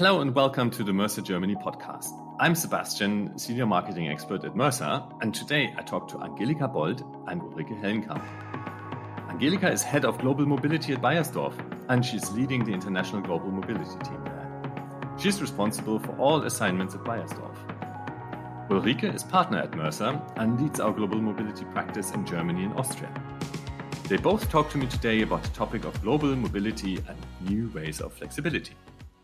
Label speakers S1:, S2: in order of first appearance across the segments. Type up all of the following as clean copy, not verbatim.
S1: Hello and welcome to the Mercer Germany podcast. I'm Sebastian, Senior Marketing Expert at Mercer, and today I talk to Angelika Bold and Ulrike Hellenkamp. Angelika is Head of Global Mobility at Beiersdorf, and she's leading the International Global Mobility team there. She's responsible for all assignments at Beiersdorf. Ulrike is Partner at Mercer and leads our Global Mobility practice in Germany and Austria. They both talk to me today about the topic of global mobility and new ways of flexibility.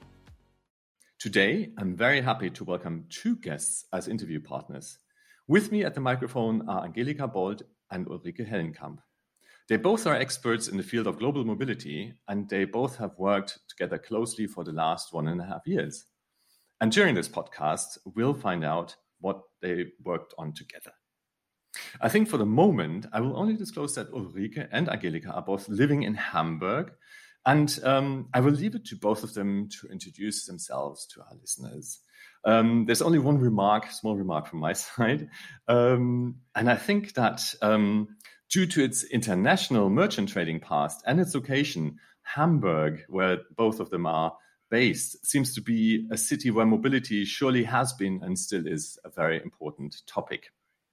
S1: Today, I'm very happy to welcome two guests as interview partners. With me at the microphone are Angelika Bold and Ulrike Hellenkamp. They both are experts in the field of global mobility, and they both have worked together closely for the last 1.5 years. And during this podcast, we'll find out what they worked on together. I think for the moment, I will only disclose that Ulrike and Angelika are both living in Hamburg, and I will leave it to both of them to introduce themselves to our listeners. There's only one small remark from my side. And I think that due to its international merchant trading past and its location, Hamburg, where both of them are based, seems to be a city where mobility surely has been and still is a very important topic.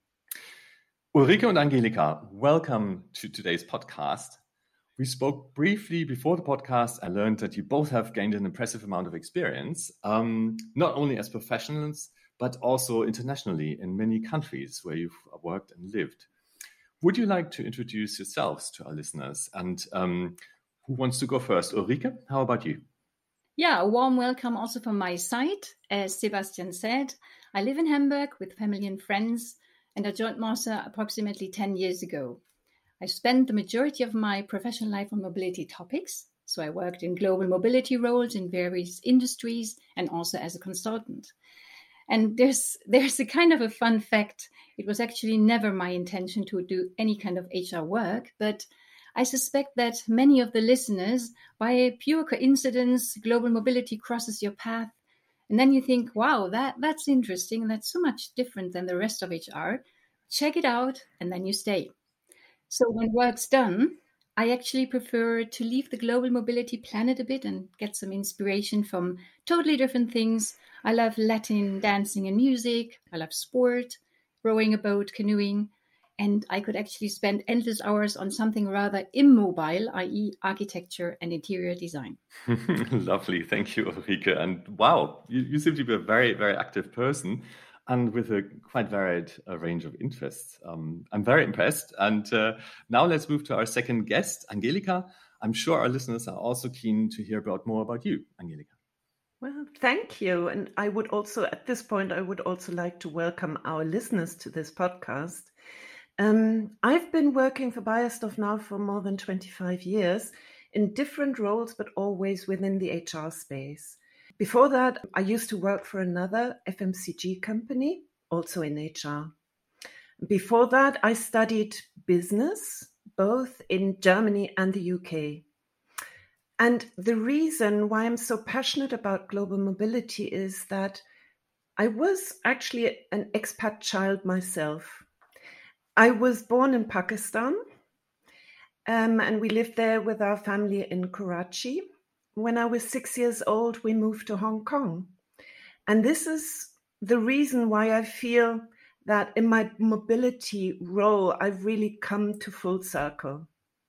S1: Ulrike and Angelika, welcome to today's podcast. We spoke briefly before the podcast. I learned that you both have gained an impressive amount of experience, not only as professionals, but also internationally in many countries where you've worked and lived. Would you like to introduce yourselves to our listeners? And who wants to go first? Ulrike, how about you?
S2: Yeah, a warm welcome also from my side. As Sebastian said, I live in Hamburg with family and friends, and I joined Mercer approximately 10 years ago. I spent the majority of my professional life on mobility topics. So I worked in global mobility roles in various industries and also as a consultant. And there's a kind of a fun fact. It was actually never my intention to do any kind of HR work, but I suspect that many of the listeners, by a pure coincidence, global mobility crosses your path. And then you think, wow, that's interesting. That's so much different than the rest of HR. Check it out, and then you stay. So when work's done, I actually prefer to leave the global mobility planet a bit and get some inspiration from totally different things. I love Latin dancing and music. I love sport, rowing a boat, canoeing. And I could actually spend endless hours on something rather immobile, i.e. architecture and interior design.
S1: Lovely. Thank you, Ulrike. And wow, you seem to be a very, very active person and with a quite varied range of interests. I'm very impressed. And now let's move to our second guest, Angelika. I'm sure our listeners are also keen to hear more about you, Angelika.
S3: Well, thank you. And at this point, I would also like to welcome our listeners to this podcast. I've been working for Beiersdorf now for more than 25 years in different roles, but always within the HR space. Before that, I used to work for another FMCG company, also in HR. Before that, I studied business, both in Germany and the UK. And the reason why I'm so passionate about global mobility is that I was actually an expat child myself. I was born in Pakistan, and we lived there with our family in Karachi. When I was 6 years old, we moved to Hong Kong. And this is the reason why I feel that in my mobility role, I've really come to full circle.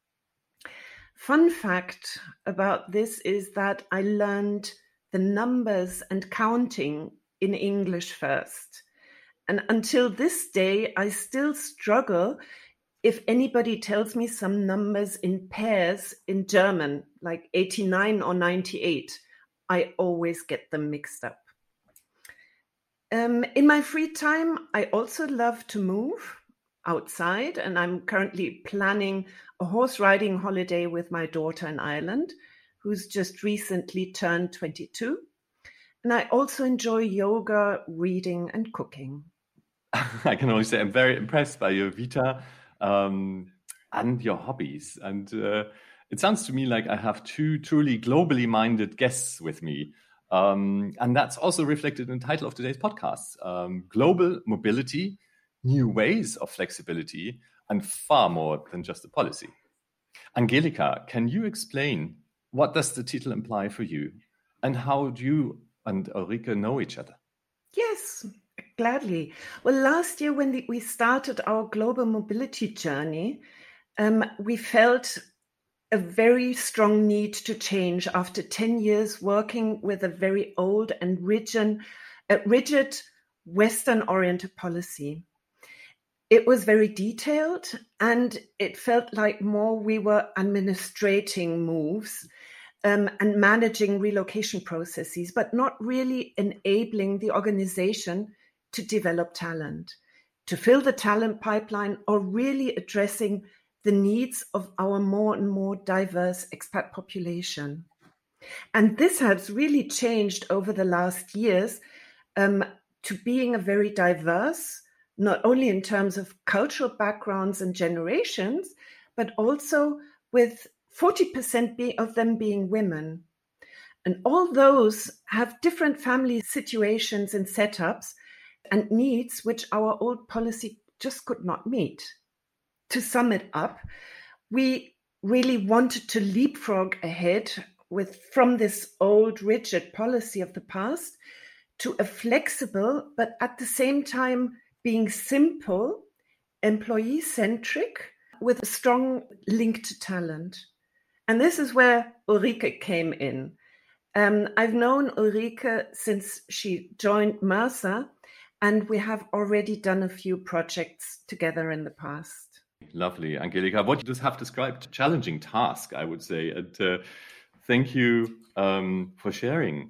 S3: Fun fact about this is that I learned the numbers and counting in English first. And until this day, I still struggle if anybody tells me some numbers in pairs in German, like 89 or 98, I always get them mixed up. In my free time, I also love to move outside, and I'm currently planning a horse riding holiday with my daughter in Ireland, who's just recently turned 22. And I also enjoy yoga, reading, and cooking.
S1: I can only say I'm very impressed by your vita and your hobbies. And it sounds to me like I have two truly globally minded guests with me. And that's also reflected in the title of today's podcast, Global Mobility, New Ways of Flexibility, and far more than just a policy. Angelika, can you explain what does the title imply for you? And how do you and Ulrike know each other?
S3: Yes, gladly. Well, last year when we started our global mobility journey, we felt a very strong need to change after 10 years working with a very old and rigid Western-oriented policy. It was very detailed, and it felt like more we were administrating moves and managing relocation processes, but not really enabling the organization to develop talent, to fill the talent pipeline, or really addressing the needs of our more and more diverse expat population. And this has really changed over the last years to being a very diverse, not only in terms of cultural backgrounds and generations, but also with 40% of them being women. And all those have different family situations and setups and needs which our old policy just could not meet. To sum it up, we really wanted to leapfrog ahead from this old rigid policy of the past to a flexible, but at the same time being simple, employee-centric, with a strong link to talent. And this is where Ulrike came in. I've known Ulrike since she joined Mercer, and we have already done a few projects together in the past.
S1: Lovely, Angelika. What you just have described, challenging task, I would say. And thank you for sharing.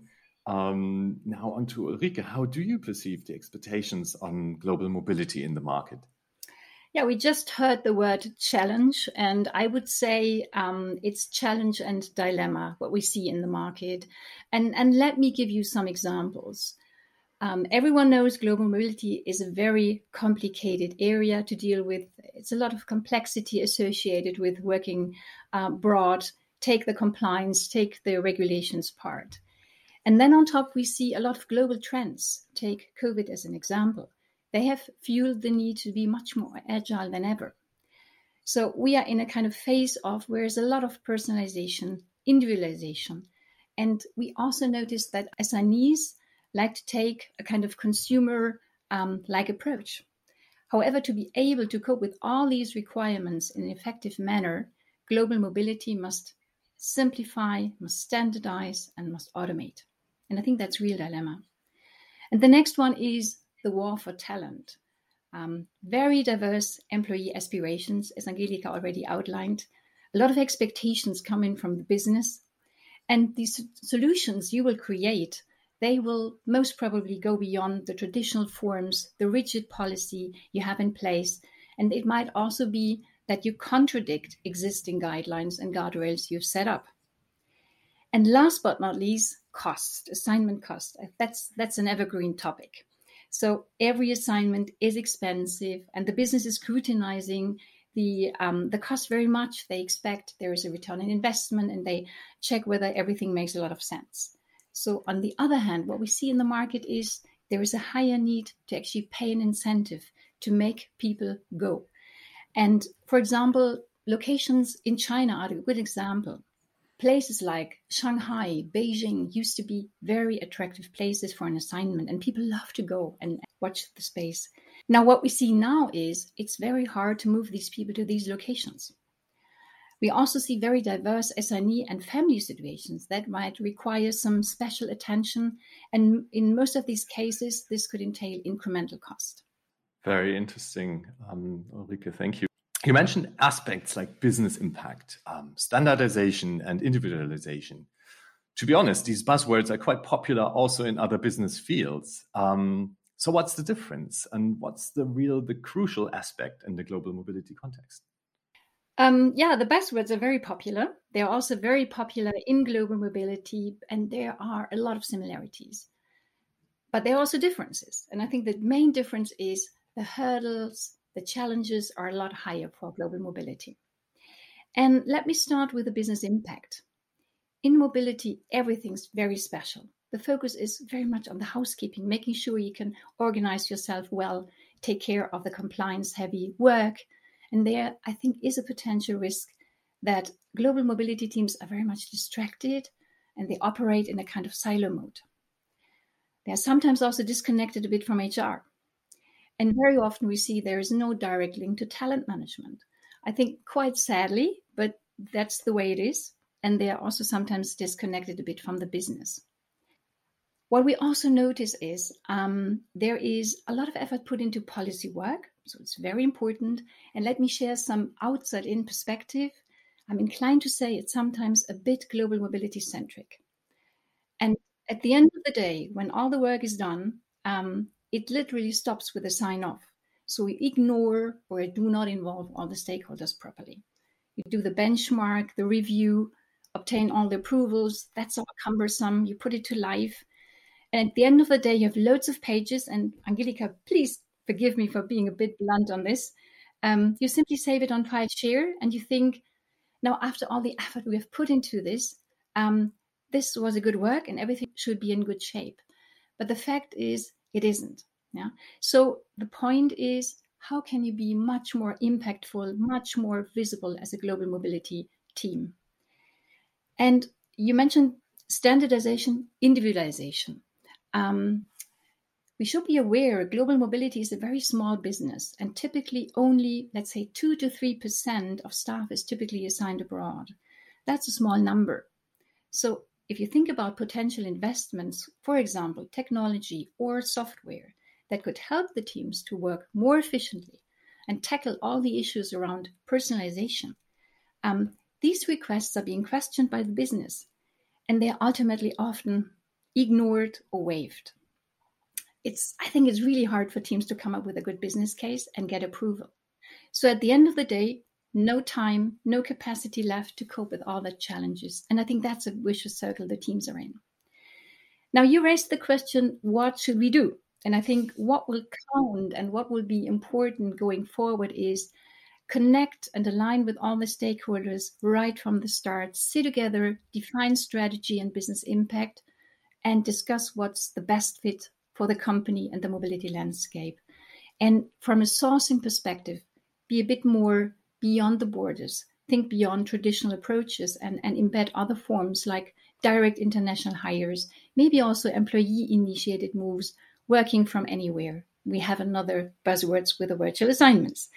S1: Now on to Ulrike. How do you perceive the expectations on global mobility in the market?
S2: Yeah, we just heard the word challenge, and I would say it's challenge and dilemma, what we see in the market. And let me give you some examples. Everyone knows global mobility is a very complicated area to deal with. It's a lot of complexity associated with working abroad. Take the compliance, take the regulations part. And then on top, we see a lot of global trends. Take COVID as an example. They have fueled the need to be much more agile than ever. So we are in a kind of phase of where there's a lot of personalization, individualization. And we also notice that SMEs like to take a kind of consumer-like approach. However, to be able to cope with all these requirements in an effective manner, global mobility must simplify, must standardize, and must automate. And I think that's a real dilemma. And the next one is the war for talent. Very diverse employee aspirations, as Angelika already outlined. A lot of expectations coming from the business. And these solutions you will create, they will most probably go beyond the traditional forms, the rigid policy you have in place. And it might also be that you contradict existing guidelines and guardrails you've set up. And last but not least, cost, assignment cost. That's an evergreen topic. So every assignment is expensive, and the business is scrutinizing the cost very much. They expect there is a return on investment, and they check whether everything makes a lot of sense. So on the other hand, what we see in the market is there is a higher need to actually pay an incentive to make people go. And for example, locations in China are a good example. Places like Shanghai, Beijing used to be very attractive places for an assignment, and people love to go and watch the space. Now, what we see now is it's very hard to move these people to these locations. We also see very diverse SME and family situations that might require some special attention. And in most of these cases, this could entail incremental cost.
S1: Very interesting, Ulrike, thank you. You mentioned aspects like business impact, standardization, and individualization. To be honest, these buzzwords are quite popular also in other business fields. So what's the difference, and what's the crucial aspect in the global mobility context?
S2: The buzzwords are very popular. They're also very popular in global mobility, and there are a lot of similarities. But there are also differences. And I think the main difference is the hurdles, the challenges are a lot higher for global mobility. And let me start with the business impact. In mobility, everything's very special. The focus is very much on the housekeeping, making sure you can organize yourself well, take care of the compliance-heavy work. And there, I think, is a potential risk that global mobility teams are very much distracted and they operate in a kind of silo mode. They're sometimes also disconnected a bit from HR. And very often we see there is no direct link to talent management. I think quite sadly, but that's the way it is. And they are also sometimes disconnected a bit from the business. What we also notice is there is a lot of effort put into policy work. So it's very important. And let me share some outside-in perspective. I'm inclined to say it's sometimes a bit global mobility centric. And at the end of the day, when all the work is done, it literally stops with a sign off. So we ignore or do not involve all the stakeholders properly. You do the benchmark, the review, obtain all the approvals. That's all cumbersome. You put it to life. And at the end of the day, you have loads of pages. And Angelika, please forgive me for being a bit blunt on this. You simply save it on FileShare and you think, now after all the effort we have put into this, this was a good work and everything should be in good shape. But the fact is, it isn't. Yeah. So the point is, how can you be much more impactful, much more visible as a global mobility team? And you mentioned standardization, individualization. We should be aware global mobility is a very small business and typically only, let's say, 2 to 3% of staff is typically assigned abroad. That's a small number. So if you think about potential investments, for example, technology or software that could help the teams to work more efficiently and tackle all the issues around personalization, these requests are being questioned by the business and they are ultimately often ignored or waived. I think it's really hard for teams to come up with a good business case and get approval. So at the end of the day, no time, no capacity left to cope with all the challenges. And I think that's a vicious circle the teams are in. Now, you raised the question, what should we do? And I think what will count and what will be important going forward is connect and align with all the stakeholders right from the start, sit together, define strategy and business impact, and discuss what's the best fit for the company and the mobility landscape. And from a sourcing perspective, be a bit more beyond the borders, think beyond traditional approaches and embed other forms like direct international hires, maybe also employee-initiated moves, working from anywhere. We have another buzzwords with the virtual assignments.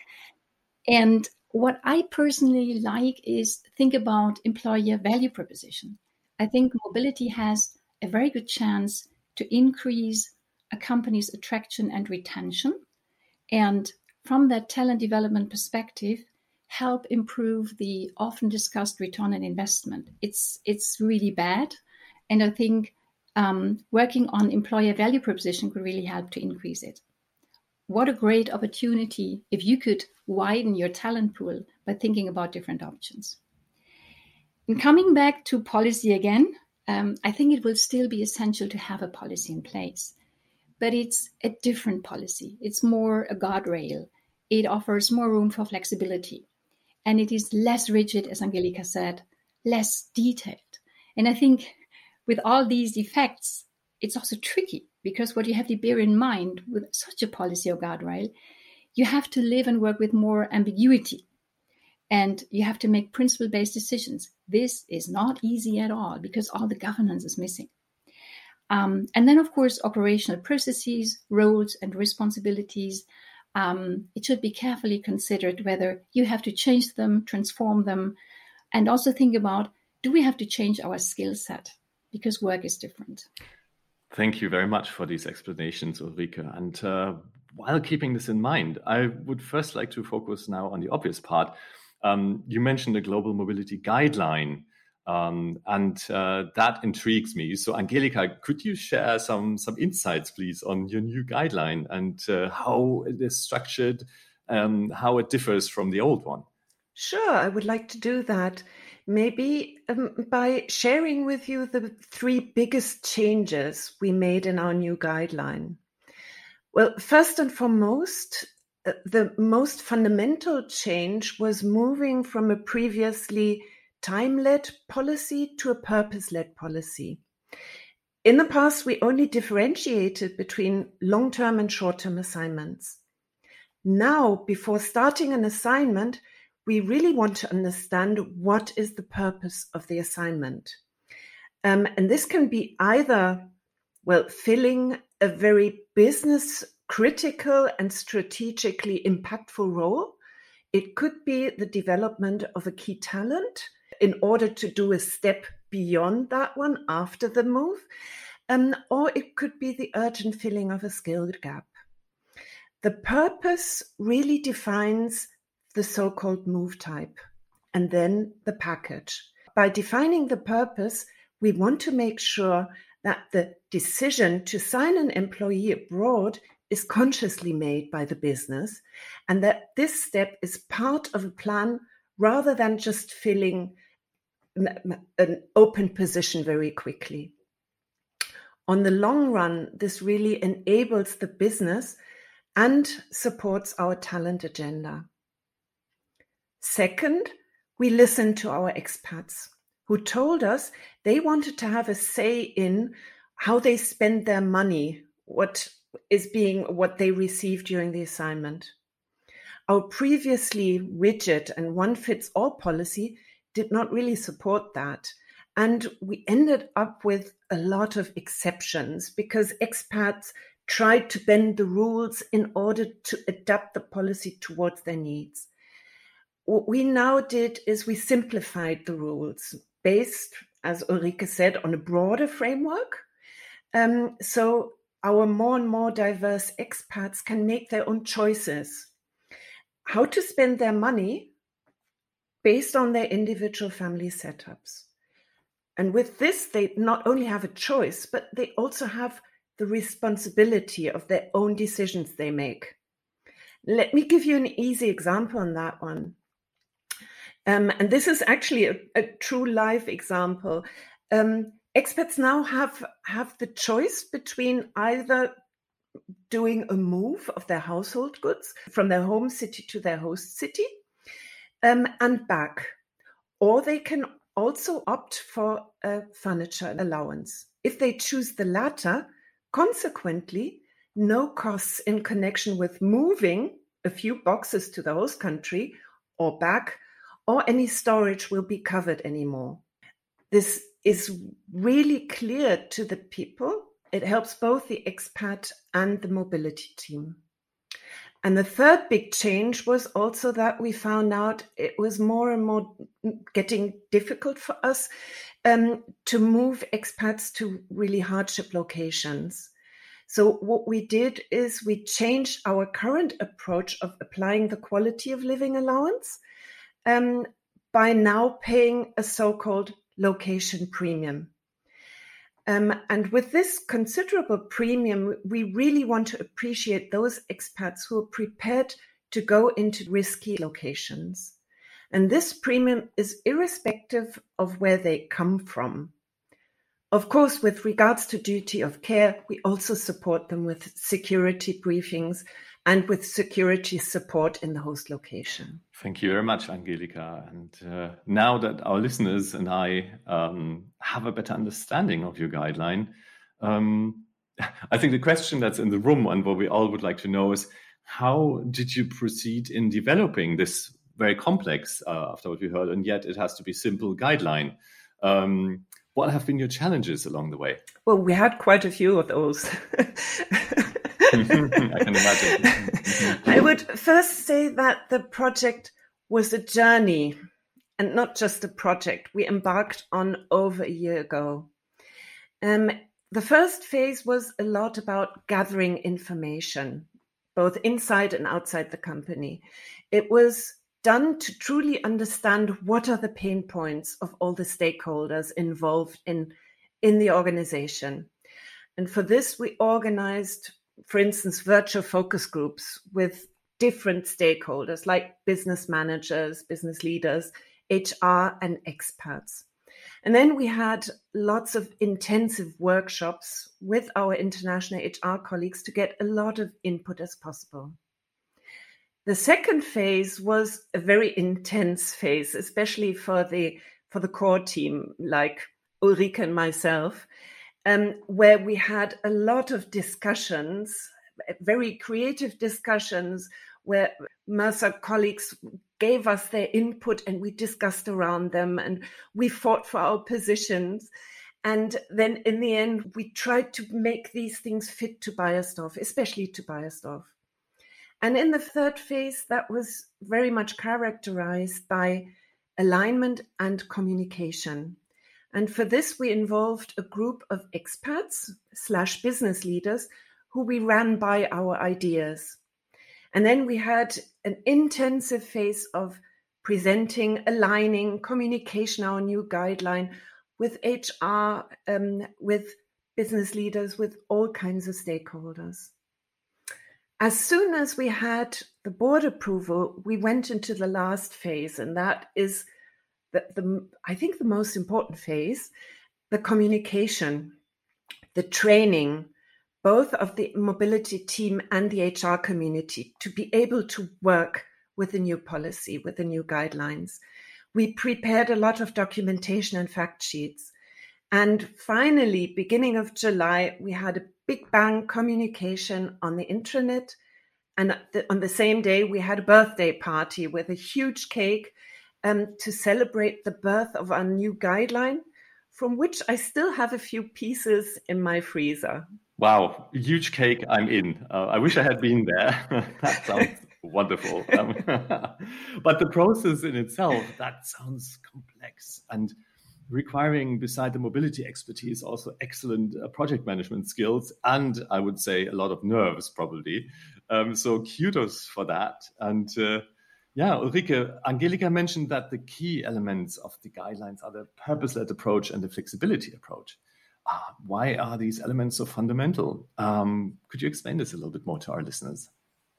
S2: And what I personally like is think about employer value proposition. I think mobility has a very good chance to increase a company's attraction and retention. And from that talent development perspective, help improve the often discussed return on investment. It's really bad. And I think working on employer value proposition could really help to increase it. What a great opportunity if you could widen your talent pool by thinking about different options. And coming back to policy again, I think it will still be essential to have a policy in place. But it's a different policy. It's more a guardrail. It offers more room for flexibility. And it is less rigid, as Angelika said, less detailed. And I think with all these effects, it's also tricky because what you have to bear in mind with such a policy or guardrail, you have to live and work with more ambiguity. And you have to make principle-based decisions. This is not easy at all because all the governance is missing. And then, of course, operational processes, roles, and responsibilities. It should be carefully considered whether you have to change them, transform them, and also think about, do we have to change our skill set? Because work is different.
S1: Thank you very much for these explanations, Ulrike. And while keeping this in mind, I would first like to focus now on the obvious part. You mentioned the Global Mobility Guideline. And that intrigues me. So, Angelika, could you share some insights, please, on your new guideline and how it is structured, how it differs from the old one?
S3: Sure, I would like to do that. Maybe by sharing with you the 3 biggest changes we made in our new guideline. Well, first and foremost, the most fundamental change was moving from a previously time-led policy to a purpose-led policy. In the past, we only differentiated between long-term and short-term assignments. Now, before starting an assignment, we really want to understand what is the purpose of the assignment. And this can be either Well, filling a very business critical and strategically impactful role. It could be the development of a key talent in order to do a step beyond that one after the move, or it could be the urgent filling of a skill gap. The purpose really defines the so-called move type, and then the package. By defining the purpose, we want to make sure that the decision to sign an employee abroad is consciously made by the business, and that this step is part of a plan rather than just filling an open position very quickly. On the long run, this really enables the business and supports our talent agenda. Second, we listened to our expats who told us they wanted to have a say in how they spend their money, what they received during the assignment. Our previously rigid and one-fits-all policy did not really support that. And we ended up with a lot of exceptions because expats tried to bend the rules in order to adapt the policy towards their needs. What we now did is we simplified the rules based, as Ulrike said, on a broader framework. So our more and more diverse expats can make their own choices, how to spend their money based on their individual family setups. And with this, they not only have a choice, but they also have the responsibility of their own decisions they make. Let me give you an easy example on that one. And this is actually a true life example. Expats now have the choice between either doing a move of their household goods from their home city to their host city and back. Or they can also opt for a furniture allowance. If they choose the latter, consequently, no costs in connection with moving a few boxes to the host country or back, or any storage will be covered anymore. This is really clear to the people. It helps both the expat and the mobility team. And the third big change was also that we found out it was more and more getting difficult for us to move expats to really hardship locations. So what we did is we changed our current approach of applying the quality of living allowance by now paying a so-called location premium. And with this considerable premium, we really want to appreciate those expats who are prepared to go into risky locations. And this premium is irrespective of where they come from. Of course, with regards to duty of care, we also support them with security briefings and with security support in the host location.
S1: Thank you very much, Angelika. And now that our listeners and I have a better understanding of your guideline, I think the question that's in the room and what we all would like to know is, how did you proceed in developing this very complex, after what we heard, and yet it has to be simple guideline? What have been your challenges along the way?
S3: Well, we had quite a few of those.
S1: I can imagine.
S3: I would first say that the project was a journey and not just a project we embarked on over a year ago. The first phase was a lot about gathering information, both inside and outside the company. It was done to truly understand what are the pain points of all the stakeholders involved in the organization. And for this, we organized, for instance, virtual focus groups with different stakeholders like business managers, business leaders, HR, and expats. And then we had lots of intensive workshops with our international HR colleagues to get a lot of input as possible. The second phase was a very intense phase, especially for the core team like Ulrike and myself, where we had a lot of discussions, very creative discussions, where Mercer colleagues gave us their input and we discussed around them and we fought for our positions. And then in the end, we tried to make these things fit to Beiersdorf, especially to Beiersdorf. And in the third phase, that was very much characterized by alignment and communication. And for this, we involved a group of experts / business leaders who we ran by our ideas. And then we had an intensive phase of presenting, aligning, communication, our new guideline with HR, with business leaders, with all kinds of stakeholders. As soon as we had the board approval, we went into the last phase, and that is I think the most important phase, the communication, the training, both of the mobility team and the HR community to be able to work with the new policy, with the new guidelines. We prepared a lot of documentation and fact sheets. And finally, beginning of July, we had a big bang communication on the intranet. And on the same day, we had a birthday party with a huge cake to celebrate the birth of our new guideline, from which I still have a few pieces in my freezer.
S1: Wow, huge cake, I'm in. I wish I had been there. That sounds wonderful. But the process in itself, that sounds complex and requiring, beside the mobility expertise, also excellent project management skills, and I would say a lot of nerves probably. So kudos for that. And Ulrike, Angelika mentioned that the key elements of the guidelines are the purpose-led approach and the flexibility approach. Why are these elements so fundamental? Could you explain this a little bit more to our listeners?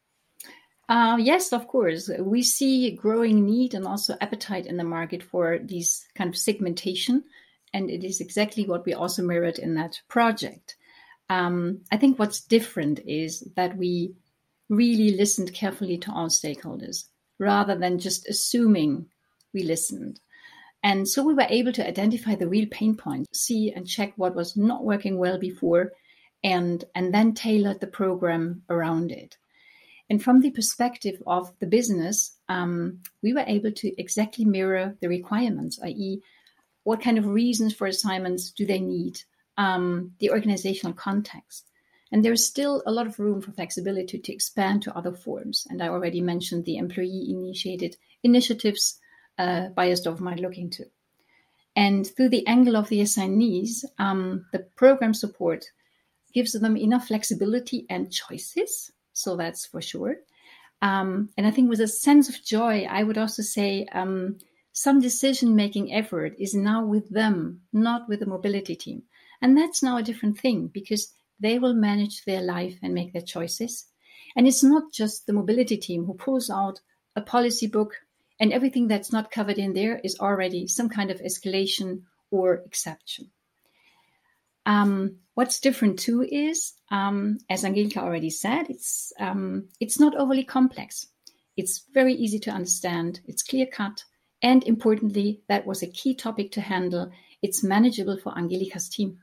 S2: Yes, of course. We see growing need and also appetite in the market for these kind of segmentation. And it is exactly what we also mirrored in that project. I think what's different is that we really listened carefully to all stakeholders rather than just assuming we listened. And so we were able to identify the real pain points, see and check what was not working well before, and then tailor the program around it. And from the perspective of the business, we were able to exactly mirror the requirements, i.e., what kind of reasons for assignments do they need, the organizational context. And there's still a lot of room for flexibility to expand to other forms. And I already mentioned the employee-initiated initiatives Beiersdorf might look into. And through the angle of the assignees, the program support gives them enough flexibility and choices. So that's for sure. And I think with a sense of joy, I would also say some decision-making effort is now with them, not with the mobility team. And that's now a different thing because they will manage their life and make their choices. And it's not just the mobility team who pulls out a policy book and everything that's not covered in there is already some kind of escalation or exception. What's different too is, as Angelika already said, it's not overly complex. It's very easy to understand. It's clear cut. And importantly, that was a key topic to handle. It's manageable for Angelika's team.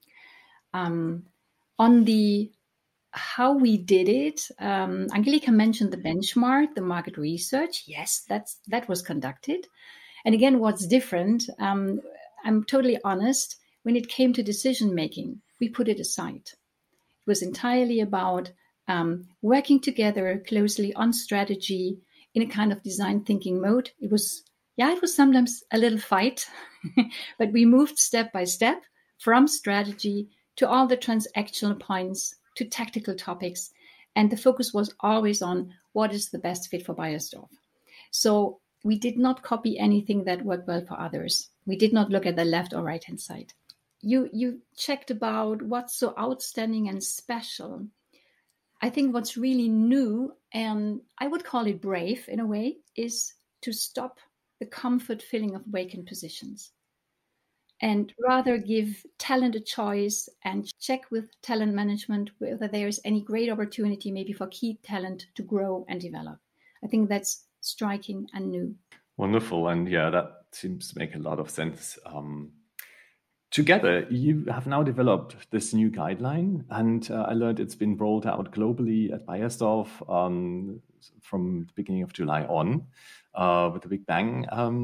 S2: On the how we did it, Angelika mentioned the benchmark, the market research. Yes, that was conducted. And again, what's different, I'm totally honest, when it came to decision making, we put it aside. It was entirely about working together closely on strategy in a kind of design thinking mode. It was sometimes a little fight, but we moved step by step from strategy to all the transactional points to tactical topics. And the focus was always on what is the best fit for Beiersdorf. So we did not copy anything that worked well for others. We did not look at the left or right-hand side. You checked about what's so outstanding and special. I think what's really new, and I would call it brave in a way, is to stop the comfort filling of vacant positions and rather give talent a choice and check with talent management whether there's any great opportunity maybe for key talent to grow and develop. I think that's striking and new.
S1: Wonderful. And yeah, that seems to make a lot of sense. Together, you have now developed this new guideline, and I learned it's been rolled out globally at Beiersdorf from the beginning of July on with a big bang.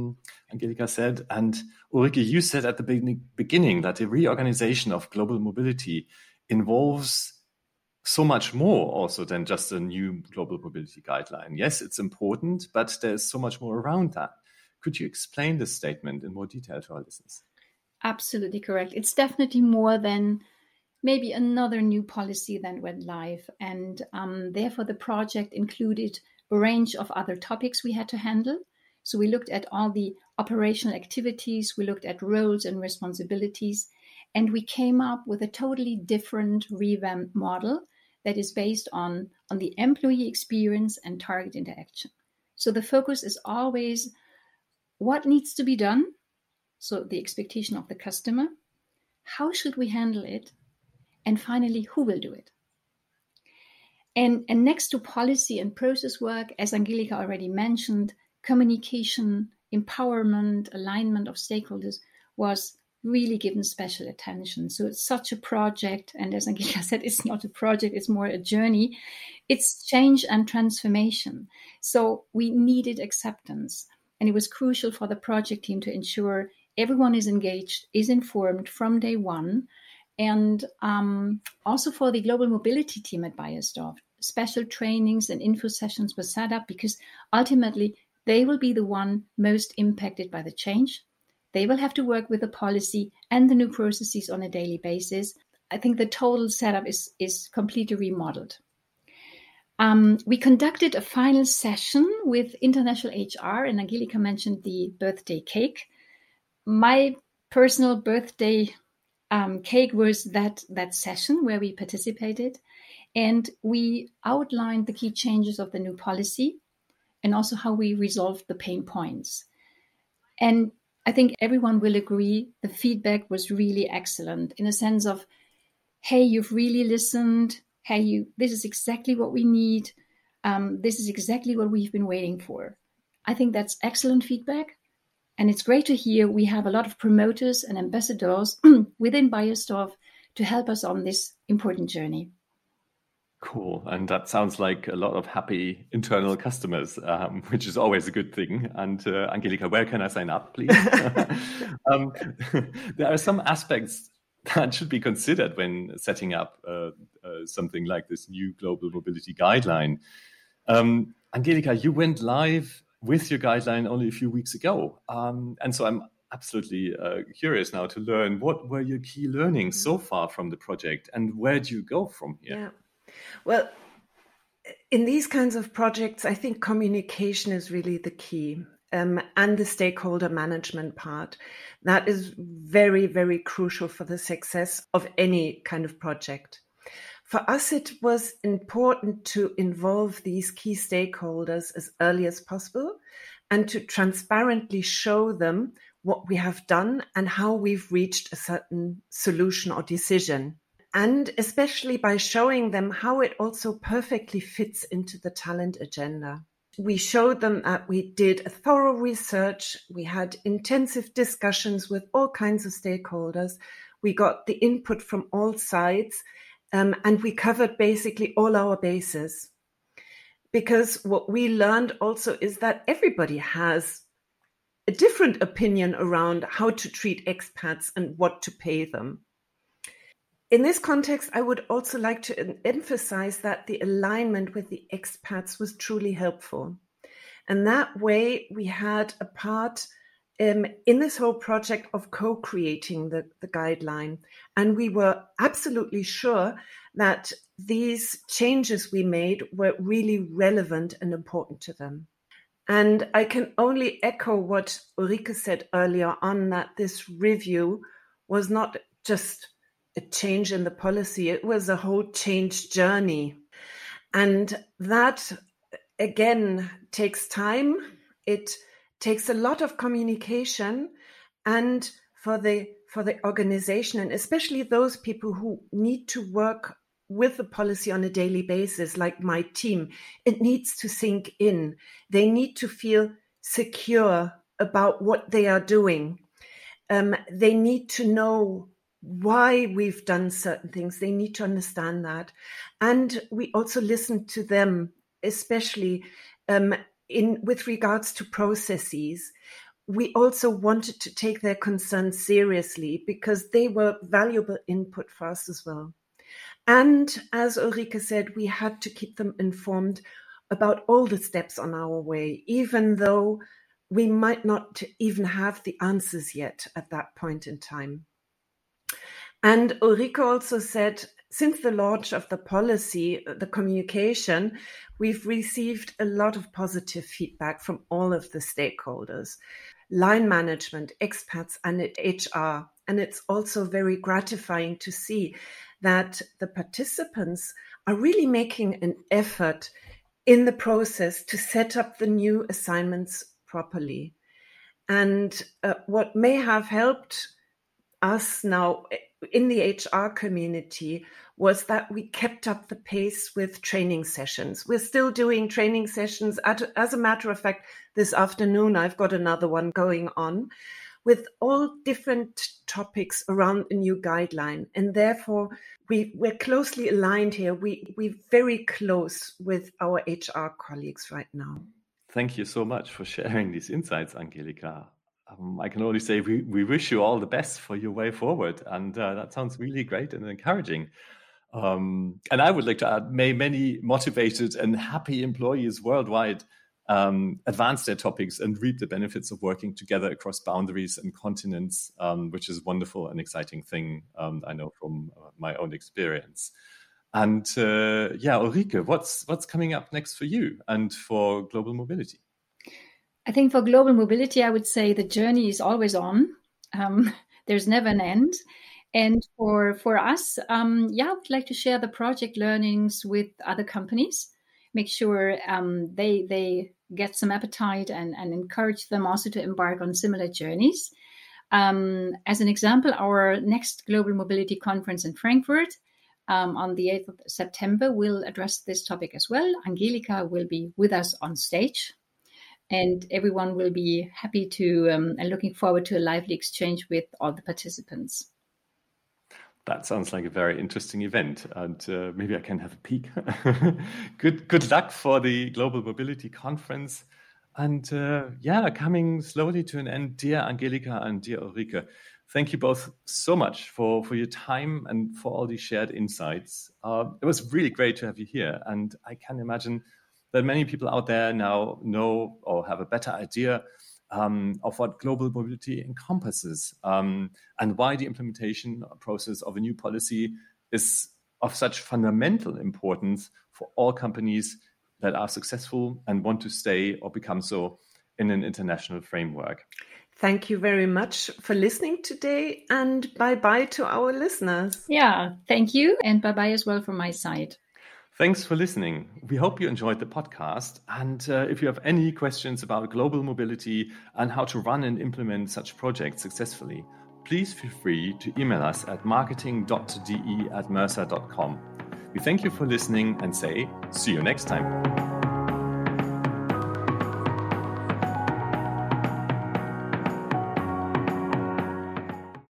S1: Angelika said. And Ulrike, you said at the beginning that the reorganization of global mobility involves so much more also than just a new global mobility guideline. Yes, it's important, but there's so much more around that. Could you explain this statement in more detail to our listeners?
S2: Absolutely correct. It's definitely more than maybe another new policy that went live. And therefore, the project included a range of other topics we had to handle. So we looked at all the operational activities, we looked at roles and responsibilities, and we came up with a totally different revamped model that is based on the employee experience and target interaction. So the focus is always what needs to be done, so the expectation of the customer, how should we handle it, and finally, who will do it? And next to policy and process work, as Angelika already mentioned, communication, empowerment, alignment of stakeholders was really given special attention. So it's such a project, and as Angelika said, it's not a project, it's more a journey. It's change and transformation. So we needed acceptance, and it was crucial for the project team to ensure everyone is engaged, is informed from day one, and also for the global mobility team at Beiersdorf, special trainings and info sessions were set up because ultimately they will be the one most impacted by the change. They will have to work with the policy and the new processes on a daily basis. I think the total setup is completely remodeled. We conducted a final session with international HR, and Angelika mentioned the birthday cake. My personal birthday cake was that session where we participated, and we outlined the key changes of the new policy and also how we resolved the pain points. And I think everyone will agree the feedback was really excellent in a sense of, hey, you've really listened. Hey, this is exactly what we need. This is exactly what we've been waiting for. I think that's excellent feedback. And it's great to hear we have a lot of promoters and ambassadors within Beiersdorf to help us on this important journey.
S1: Cool. And that sounds like a lot of happy internal customers, which is always a good thing. And Angelika, where can I sign up, please? There are some aspects that should be considered when setting up something like this new global mobility guideline. Angelika, you went live with your guideline only a few weeks ago. And so I'm absolutely curious now to learn what were your key learnings so far from the project and where do you go from here?
S3: Yeah. Well, in these kinds of projects, I think communication is really the key, and the stakeholder management part. That is very, very crucial for the success of any kind of project. For us, it was important to involve these key stakeholders as early as possible and to transparently show them what we have done and how we've reached a certain solution or decision. And especially by showing them how it also perfectly fits into the talent agenda. We showed them that we did a thorough research. We had intensive discussions with all kinds of stakeholders. We got the input from all sides, and we covered basically all our bases. Because what we learned also is that everybody has a different opinion around how to treat expats and what to pay them. In this context, I would also like to emphasize that the alignment with the expats was truly helpful. And that way we had a part in this whole project of co-creating the guideline. And we were absolutely sure that these changes we made were really relevant and important to them. And I can only echo what Ulrike said earlier on, that this review was not just a change in the policy, it was a whole change journey. And that, again, takes time. It takes a lot of communication, and for the organization, and especially those people who need to work with the policy on a daily basis, like my team, it needs to sink in. They need to feel secure about what they are doing. They need to know why we've done certain things. They need to understand that. And we also listen to them, especially with regards to processes. we also wanted to take their concerns seriously because they were valuable input for us as well. And as Ulrike said, we had to keep them informed about all the steps on our way, even though we might not even have the answers yet at that point in time. And Ulrike also said, since the launch of the policy, the communication, we've received a lot of positive feedback from all of the stakeholders, line management, expats, and HR. And it's also very gratifying to see that the participants are really making an effort in the process to set up the new assignments properly. And what may have helped us now in the HR community was that we kept up the pace with training sessions. We're still doing training sessions. As a matter of fact, this afternoon, I've got another one going on with all different topics around a new guideline. And therefore, we're closely aligned here. We're very close with our HR colleagues right now.
S1: Thank you so much for sharing these insights, Angelika. I can only say we wish you all the best for your way forward. And that sounds really great and encouraging. And I would like to add, may many motivated and happy employees worldwide advance their topics and reap the benefits of working together across boundaries and continents, which is a wonderful and exciting thing, I know from my own experience. And Ulrike, what's coming up next for you and for Global Mobility?
S2: I think for Global Mobility, I would say the journey is always on. There's never an end. And for us, I would like to share the project learnings with other companies, make sure they get some appetite and encourage them also to embark on similar journeys. As an example, our next Global Mobility Conference in Frankfurt on the 8th of September will address this topic as well. Angelika will be with us on stage. And everyone will be happy to and looking forward to a lively exchange with all the participants.
S1: That sounds like a very interesting event, and maybe I can have a peek. Good luck for the Global Mobility Conference. And coming slowly to an end, dear Angelika and dear Ulrike, thank you both so much for your time and for all these shared insights. It was really great to have you here, and I can imagine that many people out there now know or have a better idea of what global mobility encompasses and why the implementation process of a new policy is of such fundamental importance for all companies that are successful and want to stay or become so in an international framework.
S3: Thank you very much for listening today, and bye-bye to our listeners.
S2: Yeah, thank you, and bye-bye as well from my side.
S1: Thanks for listening. We hope you enjoyed the podcast. And if you have any questions about global mobility and how to run and implement such projects successfully, please feel free to email us at marketing.de@mercer.com. We thank you for listening and say, see you next time.